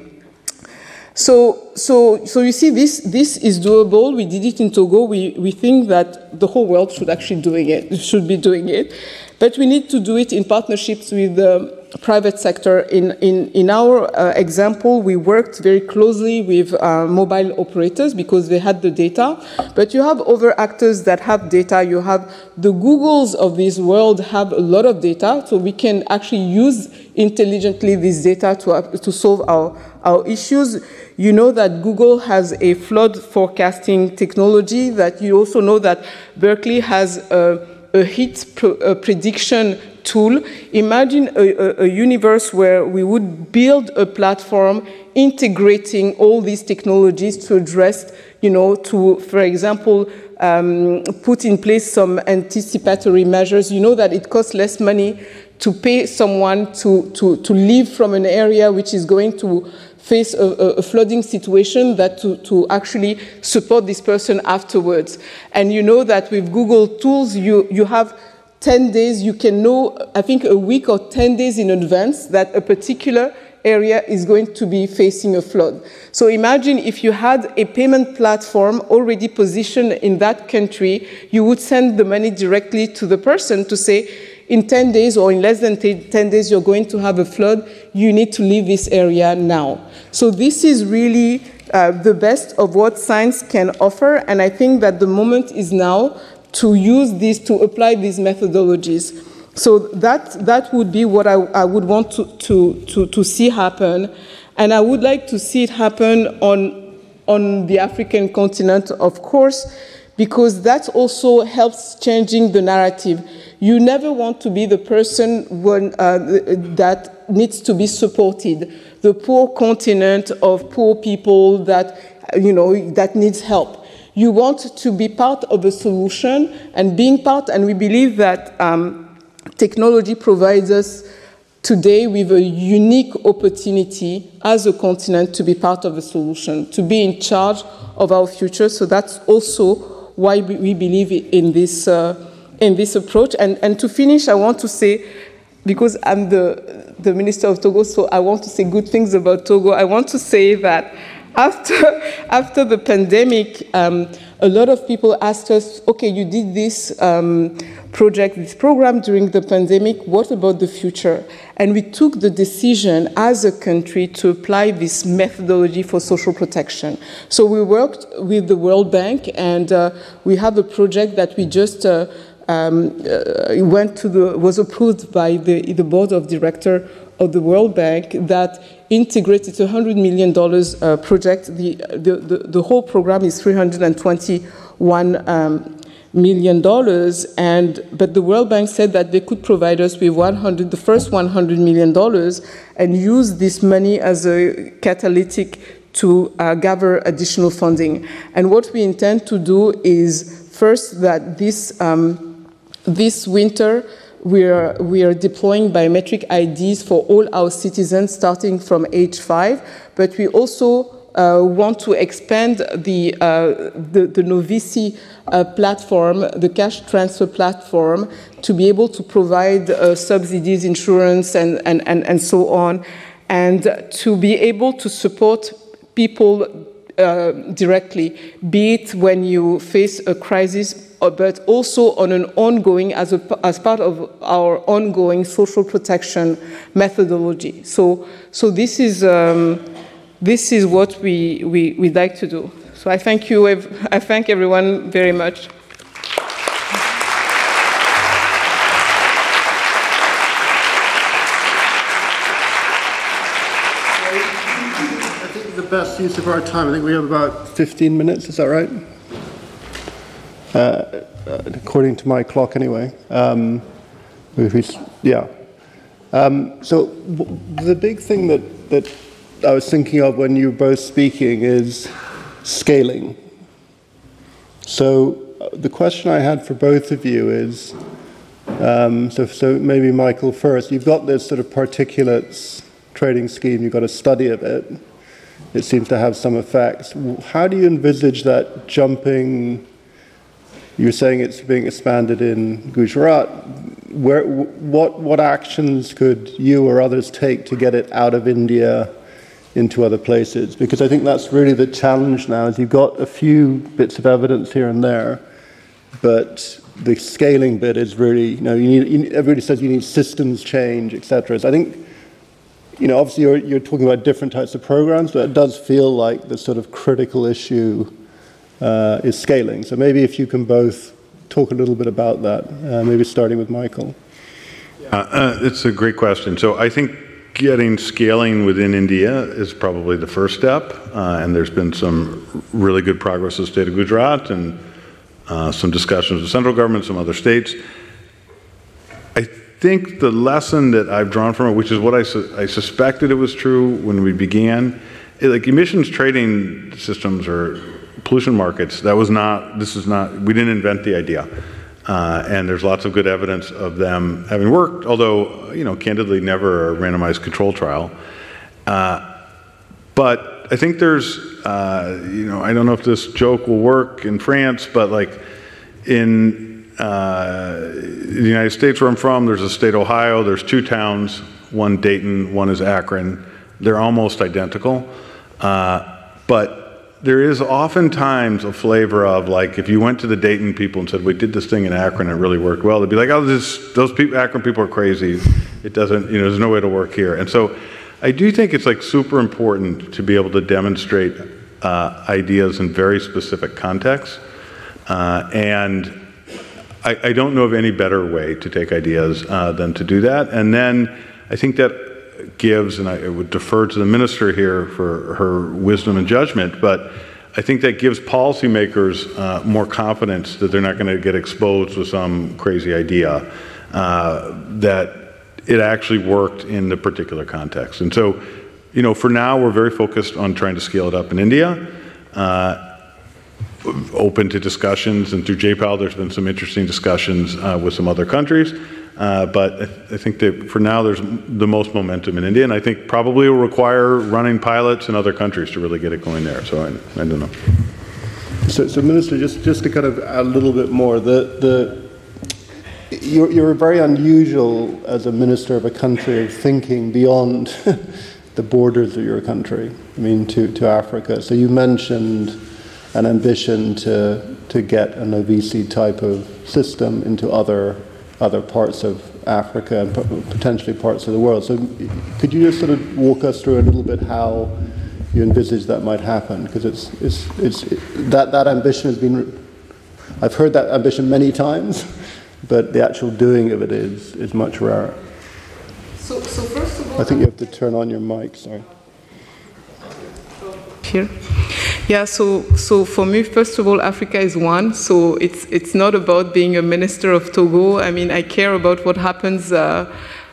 So, so, so you see, this, this is doable. We did it in Togo. We, we think that the whole world should actually doing it, should be doing it. But we need to do it in partnerships with the private sector. In, in, in our uh, example, we worked very closely with uh, mobile operators because they had the data. But you have other actors that have data. You have the Googles of this world have a lot of data, so we can actually use intelligently this data to, uh, to solve our, our issues. You know that Google has a flood forecasting technology, that you also know that Berkeley has a, a heat pro, a prediction tool. Imagine a, a, a universe where we would build a platform integrating all these technologies to address, you know, to, for example, um, put in place some anticipatory measures. You know that it costs less money to pay someone to, to, to leave from an area which is going to face a, a flooding situation, that to, to actually support this person afterwards. And you know that with Google tools, you, you have ten days, you can know, I think a week or ten days in advance, that a particular area is going to be facing a flood. So imagine if you had a payment platform already positioned in that country, you would send the money directly to the person to say, in ten days or in less than ten days, you're going to have a flood. You need to leave this area now. So this is really uh, the best of what science can offer. And I think that the moment is now to use this, to apply these methodologies. So that, that would be what I, I would want to, to, to, to see happen. And I would like to see it happen on, on the African continent, of course, because that also helps changing the narrative. You never want to be the person when, uh, that needs to be supported, the poor continent of poor people that, you know, that needs help. You want to be part of a solution and being part, and we believe that um, technology provides us today with a unique opportunity as a continent to be part of a solution, to be in charge of our future. So that's also why we believe in this uh, in this approach. And, and to finish, I want to say, because I'm the, the Minister of Togo, so I want to say good things about Togo. I want to say that after, after the pandemic, um, a lot of people asked us, okay, you did this um, project, this program during the pandemic, what about the future? And we took the decision as a country to apply this methodology for social protection. So we worked with the World Bank, and uh, we have a project that we just uh, um, uh, went to the, was approved by the, the board of directors of the World Bank that integrated a one hundred million dollars uh, project. The, the, the, the whole program is three hundred twenty-one um, million dollars, and but the World Bank said that they could provide us with one hundred, the first one hundred million dollars, and use this money as a catalytic to uh, gather additional funding. And what we intend to do is first that this um, this winter we are we are deploying biometric I Ds for all our citizens starting from age five, but we also Uh, want to expand the, uh, the, the Novici uh, platform, the cash transfer platform, to be able to provide uh, subsidies, insurance, and, and, and, and so on, and to be able to support people uh, directly, be it when you face a crisis, but also on an ongoing, as, a, as part of our ongoing social protection methodology. So, so this is... Um, This is what we, we, we'd like to do. So I thank you, I thank everyone very much. I think the best use of our time, I think we have about fifteen minutes, is that right? Uh, according to my clock anyway. Um, yeah. Um, so the big thing that, that I was thinking of when you were both speaking is scaling. So uh, the question I had for both of you is, um, so, so maybe Michael first, you've got this sort of particulates trading scheme, you've got a study of it, it seems to have some effects. How do you envisage that jumping? You're saying it's being expanded in Gujarat. Where, what, what actions could you or others take to get it out of India into other places? Because I think that's really the challenge now, is you've got a few bits of evidence here and there, but the scaling bit is really, you know, you need, you, everybody says you need systems change, et cetera. So I think, you know, obviously you're, you're talking about different types of programs, but it does feel like the sort of critical issue uh, is scaling. So maybe if you can both talk a little bit about that, uh, maybe starting with Michael. Uh, uh, it's a great question. So I think getting scaling within India is probably the first step, uh, and there's been some really good progress in the state of Gujarat and uh, some discussions with central government, some other states. I think the lesson that I've drawn from it, which is what I, su I suspected it was true when we began, it, like emissions trading systems or pollution markets, that was not, this is not, we didn't invent the idea. Uh, and there's lots of good evidence of them having worked, although, you know, candidly never a randomized control trial. Uh, but I think there's, uh, you know, I don't know if this joke will work in France, but like in uh, the United States where I'm from, there's a state Ohio, there's two towns, one Dayton, one is Akron. They're almost identical. Uh, but there is oftentimes a flavor of, like, if you went to the Dayton people and said, we did this thing in Akron and it really worked well, they'd be like, oh, this, those people, Akron people are crazy. It doesn't, you know, there's no way to work here. And so I do think it's like super important to be able to demonstrate uh, ideas in very specific contexts. Uh, and I, I don't know of any better way to take ideas uh, than to do that. And then I think that gives, and I would defer to the minister here for her wisdom and judgment, but I think that gives policymakers uh, more confidence that they're not going to get exposed with some crazy idea, uh, that it actually worked in the particular context. And so, you know, for now, we're very focused on trying to scale it up in India. Uh, open to discussions, and through J PAL there's been some interesting discussions uh, with some other countries, uh, but I, th I think that for now there's the most momentum in India, and I think probably will require running pilots in other countries to really get it going there, so I, I don't know. So, so Minister, just, just to kind of add a little bit more, the, the, you're, you're very unusual as a minister of a country of thinking beyond the borders of your country, I mean, to, to Africa. So you mentioned an ambition to to get an O V C type of system into other other parts of Africa and potentially parts of the world. So could you just sort of walk us through a little bit how you envisage that might happen? Because it's it's it's it, that that ambition has been, I've heard that ambition many times, but the actual doing of it is is much rarer. So, so first of all, I think you have to turn on your mic. Sorry. Here. Yeah, so so for me, first of all, Africa is one. So it's it's not about being a minister of Togo. I mean, I care about what happens uh,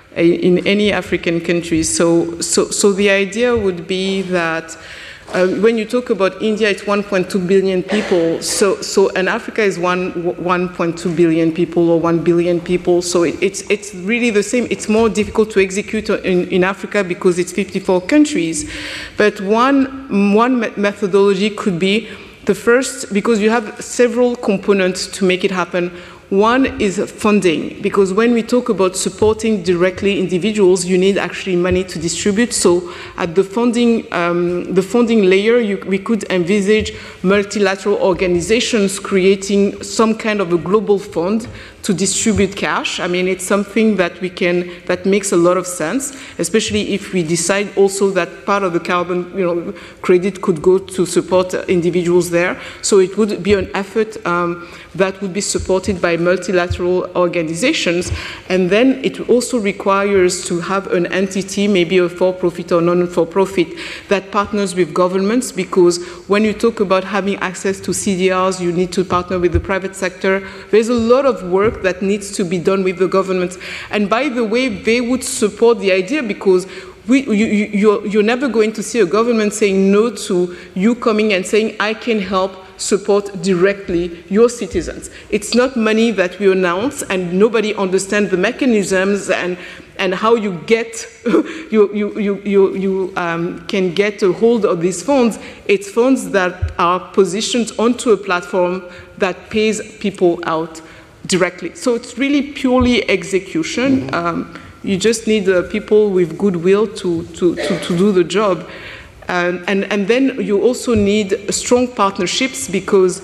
in any African country. So so so the idea would be that uh, when you talk about India, it's one point two billion people. So so and Africa is one one point two billion people or one billion people. So it, it's it's really the same. It's more difficult to execute in, in Africa because it's fifty-four countries. But one one methodology could be the first, because you have several components to make it happen. One is funding, because when we talk about supporting directly individuals, you need actually money to distribute. So at the funding, um, the funding layer, you, we could envisage multilateral organizations creating some kind of a global fund to distribute cash. I mean, it's something that we can, that makes a lot of sense, especially if we decide also that part of the carbon, you know, credit could go to support individuals there. So it would be an effort um, that would be supported by multilateral organizations. And then it also requires to have an entity, maybe a for-profit or non-for-profit, that partners with governments, because when you talk about having access to C D Rs, you need to partner with the private sector. There's a lot of work that needs to be done with the government. And by the way, they would support the idea, because we, you, you, you're, you're never going to see a government saying no to you coming and saying, I can help support directly your citizens. It's not money that we announce and nobody understands the mechanisms and, and how you get, you, you, you, you, you um, can get a hold of these funds. It's funds that are positioned onto a platform that pays people out directly. So it's really purely execution. Mm-hmm. um, you just need uh, people with goodwill to, to, to, to do the job. And, and, and then you also need strong partnerships, because,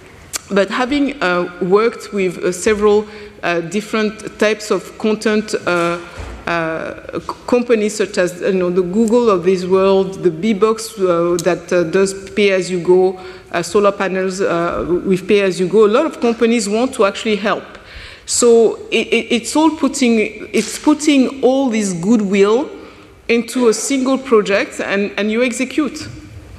but having uh, worked with uh, several uh, different types of content uh, uh, companies, such as, you know, the Google of this world, the Bbox uh, that uh, does pay-as-you-go, uh, solar panels uh, with pay-as-you-go, a lot of companies want to actually help. So it, it, it's all putting, it's putting all this goodwill into a single project, and, and you execute,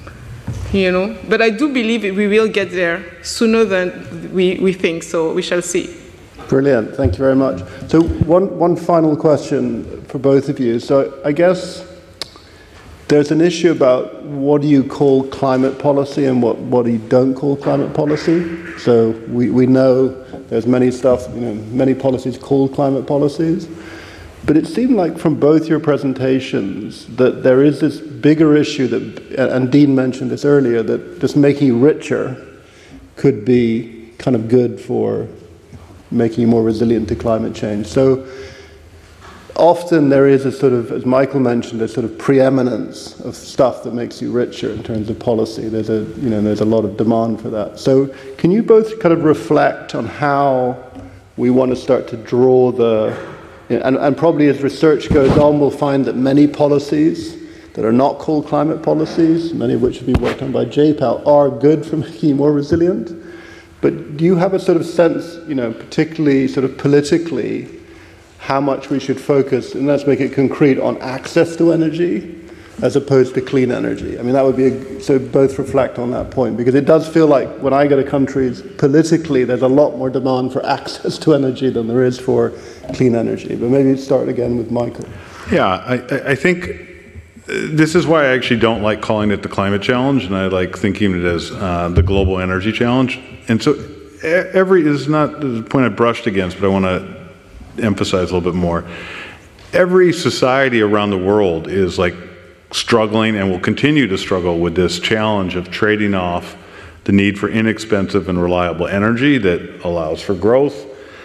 you know. But I do believe we will get there sooner than we, we think, so we shall see. Brilliant, thank you very much. So one, one final question for both of you. So I guess there's an issue about what do you call climate policy and what, what you don't call climate policy. So we, we know there's many stuff, you know, many policies called climate policies. But it seemed like from both your presentations that there is this bigger issue that, and Dean mentioned this earlier, that just making you richer could be kind of good for making you more resilient to climate change. So often there is a sort of, as Michael mentioned, a sort of preeminence of stuff that makes you richer in terms of policy. There's a, you know, there's a lot of demand for that. So can you both kind of reflect on how we want to start to draw the, and, and probably as research goes on, we'll find that many policies that are not called climate policies, many of which have been worked on by J PAL, are good for making you more resilient. But do you have a sort of sense, you know, particularly sort of politically, how much we should focus, and let's make it concrete, on access to energy as opposed to clean energy? I mean, that would be, a, so both reflect on that point, because it does feel like when I go to countries, politically, there's a lot more demand for access to energy than there is for clean energy. But maybe start again with Michael. Yeah, I, I think this is why I actually don't like calling it the climate challenge, and I like thinking of it as uh, the global energy challenge. And so every, is not the point I brushed against, but I want to emphasize a little bit more. Every society around the world is like struggling and will continue to struggle with this challenge of trading off the need for inexpensive and reliable energy that allows for growth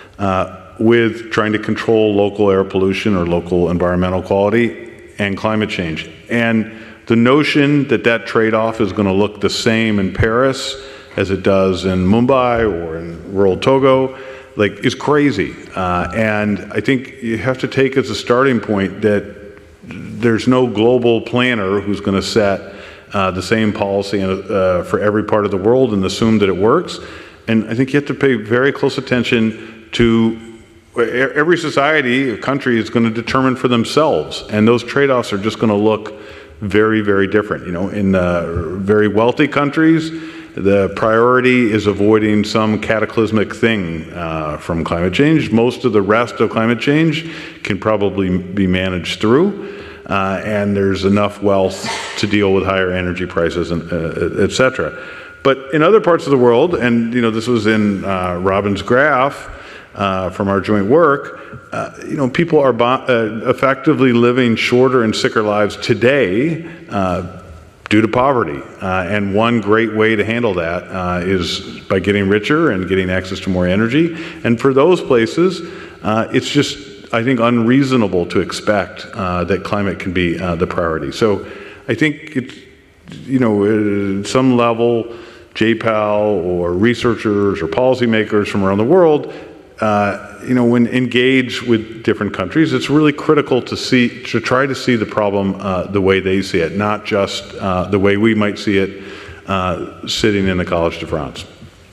uh, with trying to control local air pollution or local environmental quality and climate change. And the notion that that trade-off is going to look the same in Paris as it does in Mumbai or in rural Togo, like, is crazy. Uh, and I think you have to take as a starting point that there's no global planner who's going to set uh, the same policy uh, for every part of the world and assume that it works. And I think you have to pay very close attention to every society, a country is going to determine for themselves, and those trade-offs are just going to look very, very different. You know, in uh, very wealthy countries, the priority is avoiding some cataclysmic thing uh, from climate change. Most of the rest of climate change can probably be managed through, uh, and there's enough wealth to deal with higher energy prices, and uh, et cetera. But in other parts of the world, and you know, this was in uh, Robin's graph, Uh, from our joint work, uh, you know, people are bo- uh, effectively living shorter and sicker lives today uh, due to poverty. Uh, and one great way to handle that uh, is by getting richer and getting access to more energy. And for those places, uh, it's just, I think, unreasonable to expect uh, that climate can be uh, the priority. So I think it's, you know, at some level, J PAL or researchers or policymakers from around the world, Uh, you know, when engaged with different countries, it's really critical to see, to try to see the problem uh, the way they see it, not just uh, the way we might see it uh, sitting in the Collège de France.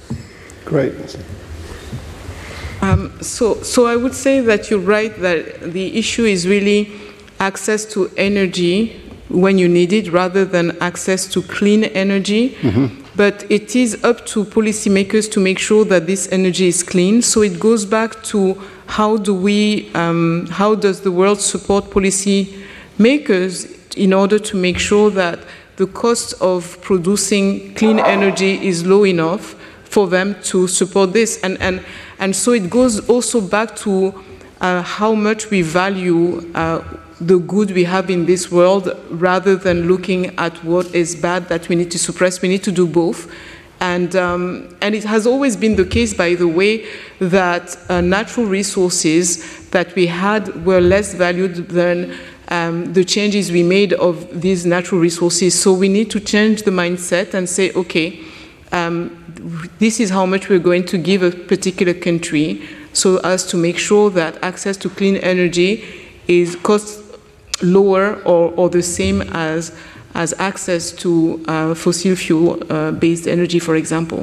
Great. Um, so, so I would say that you're right that the issue is really access to energy when you need it, rather than access to clean energy. Mm-hmm. But it is up to policymakers to make sure that this energy is clean. So it goes back to how do we, um, how does the world support policymakers in order to make sure that the cost of producing clean energy is low enough for them to support this. And, and, and so it goes also back to uh, how much we value uh, the good we have in this world, rather than looking at what is bad that we need to suppress. We need to do both. And, um, and it has always been the case, by the way, that uh, natural resources that we had were less valued than um, the changes we made of these natural resources. So we need to change the mindset and say, okay, um, this is how much we're going to give a particular country, so as to make sure that access to clean energy is cost lower or, or the same as, as access to uh, fossil fuel-based uh, energy, for example.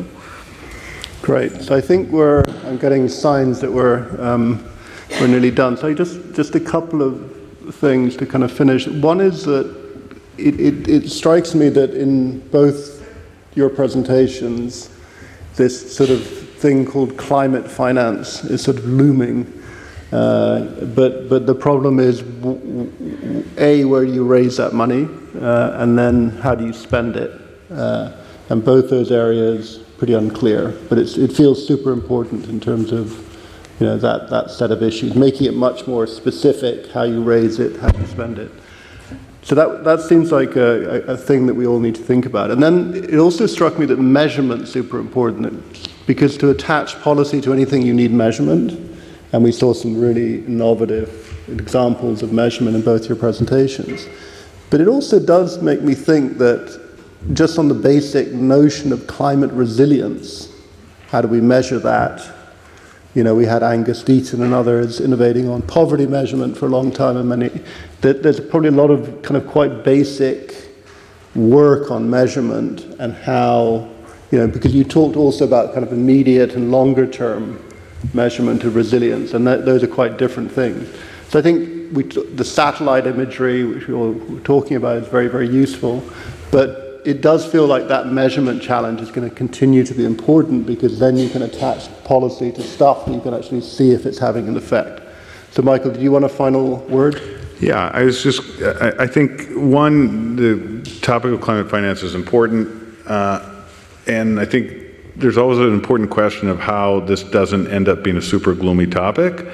Great. So I think we're, I'm getting signs that we're, um, we're nearly done. So just, just a couple of things to kind of finish. One is that it, it, it strikes me that in both your presentations, this sort of thing called climate finance is sort of looming. Uh, but but the problem is, w- w- A, where do you raise that money, uh, and then how do you spend it? Uh, and both those areas pretty unclear. But it's, it feels super important in terms of, you know, that, that set of issues, making it much more specific, how you raise it, how you spend it. So that that seems like a, a thing that we all need to think about. And then it also struck me that measurement's super important, because to attach policy to anything you need measurement. And we saw some really innovative examples of measurement in both your presentations. But it also does make me think that just on the basic notion of climate resilience, how do we measure that? You know, we had Angus Deaton and others innovating on poverty measurement for a long time, and many, that there's probably a lot of kind of quite basic work on measurement and how, you know, because you talked also about kind of immediate and longer term measurement of resilience, and that, those are quite different things. So I think we t- the satellite imagery, which we were talking about, is very, very useful, but it does feel like that measurement challenge is going to continue to be important, because then you can attach policy to stuff and you can actually see if it's having an effect. So Michael, do you want a final word? Yeah, I was just, I, I think, one, the topic of climate finance is important, uh, and I think there's always an important question of how this doesn't end up being a super gloomy topic,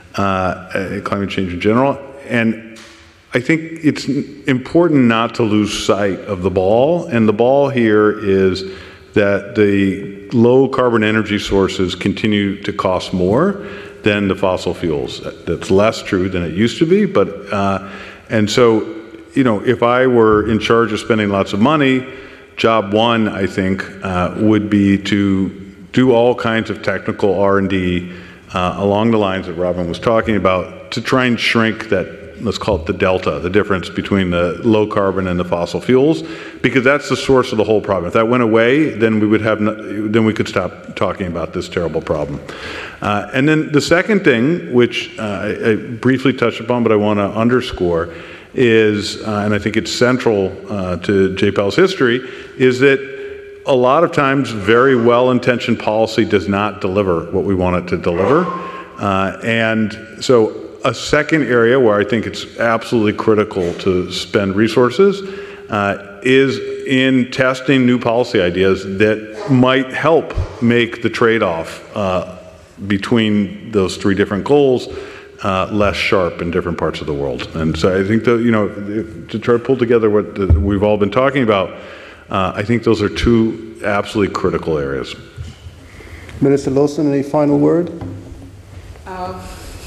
uh, climate change in general. And I think it's important not to lose sight of the ball, and the ball here is that the low carbon energy sources continue to cost more than the fossil fuels. That's less true than it used to be, but, uh, and so, you know, if I were in charge of spending lots of money, job one, I think, uh, would be to do all kinds of technical R and D uh, along the lines that Robin was talking about, to try and shrink that, let's call it the delta, the difference between the low carbon and the fossil fuels, because that's the source of the whole problem. If that went away, then we would have, no, then we could stop talking about this terrible problem. Uh, and then the second thing, which uh, I, I briefly touched upon, but I want to underscore, is, uh, and I think it's central uh, to J PAL's history, is that a lot of times very well-intentioned policy does not deliver what we want it to deliver. Uh, and so a second area where I think it's absolutely critical to spend resources uh, is in testing new policy ideas that might help make the trade-off uh, between those three different goals uh, less sharp in different parts of the world. And so I think that, you know, to try to pull together what the, we've all been talking about, uh, I think those are two absolutely critical areas. Minister Lawson, any final word? Um,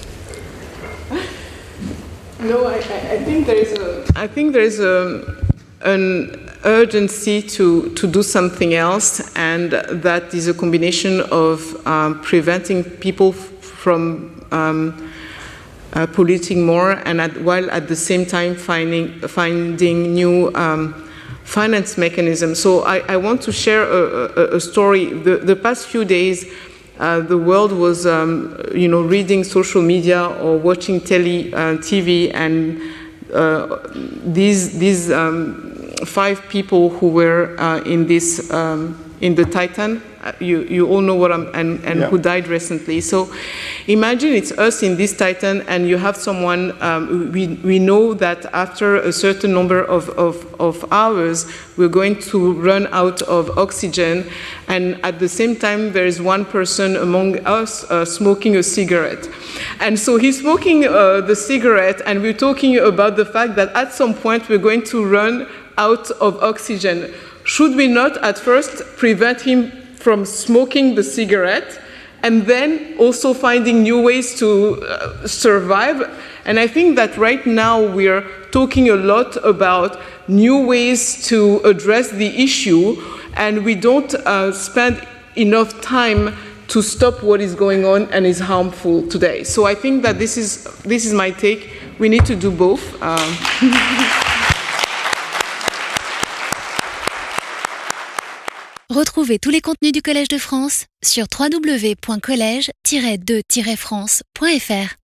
no, I, I think there is a. I think there is a an urgency to to do something else, and that is a combination of um, preventing people f- from um, uh, polluting more, and at, while at the same time finding finding new um, finance mechanisms. So I, I want to share a, a, a story. The, the past few days, Uh, the world was, um, you know, reading social media or watching tele, uh, T V, and uh, these these um, five people who were uh, in this um, in the Titan. Uh, you you all know what I'm and, and yeah. who died recently. So imagine it's us in this Titan, and you have someone. Um, we we know that after a certain number of, of of hours, we're going to run out of oxygen, and at the same time, there is one person among us uh, smoking a cigarette, and so he's smoking uh, the cigarette, and we're talking about the fact that at some point we're going to run out of oxygen. Should we not at first prevent him from smoking the cigarette, and then also finding new ways to uh, survive? And I think that right now we're talking a lot about new ways to address the issue, and we don't uh, spend enough time to stop what is going on and is harmful today. So I think that this is this is my take. We need to do both. Um, Retrouvez tous les contenus du Collège de France sur w w w point collège tiret de tiret france point f r.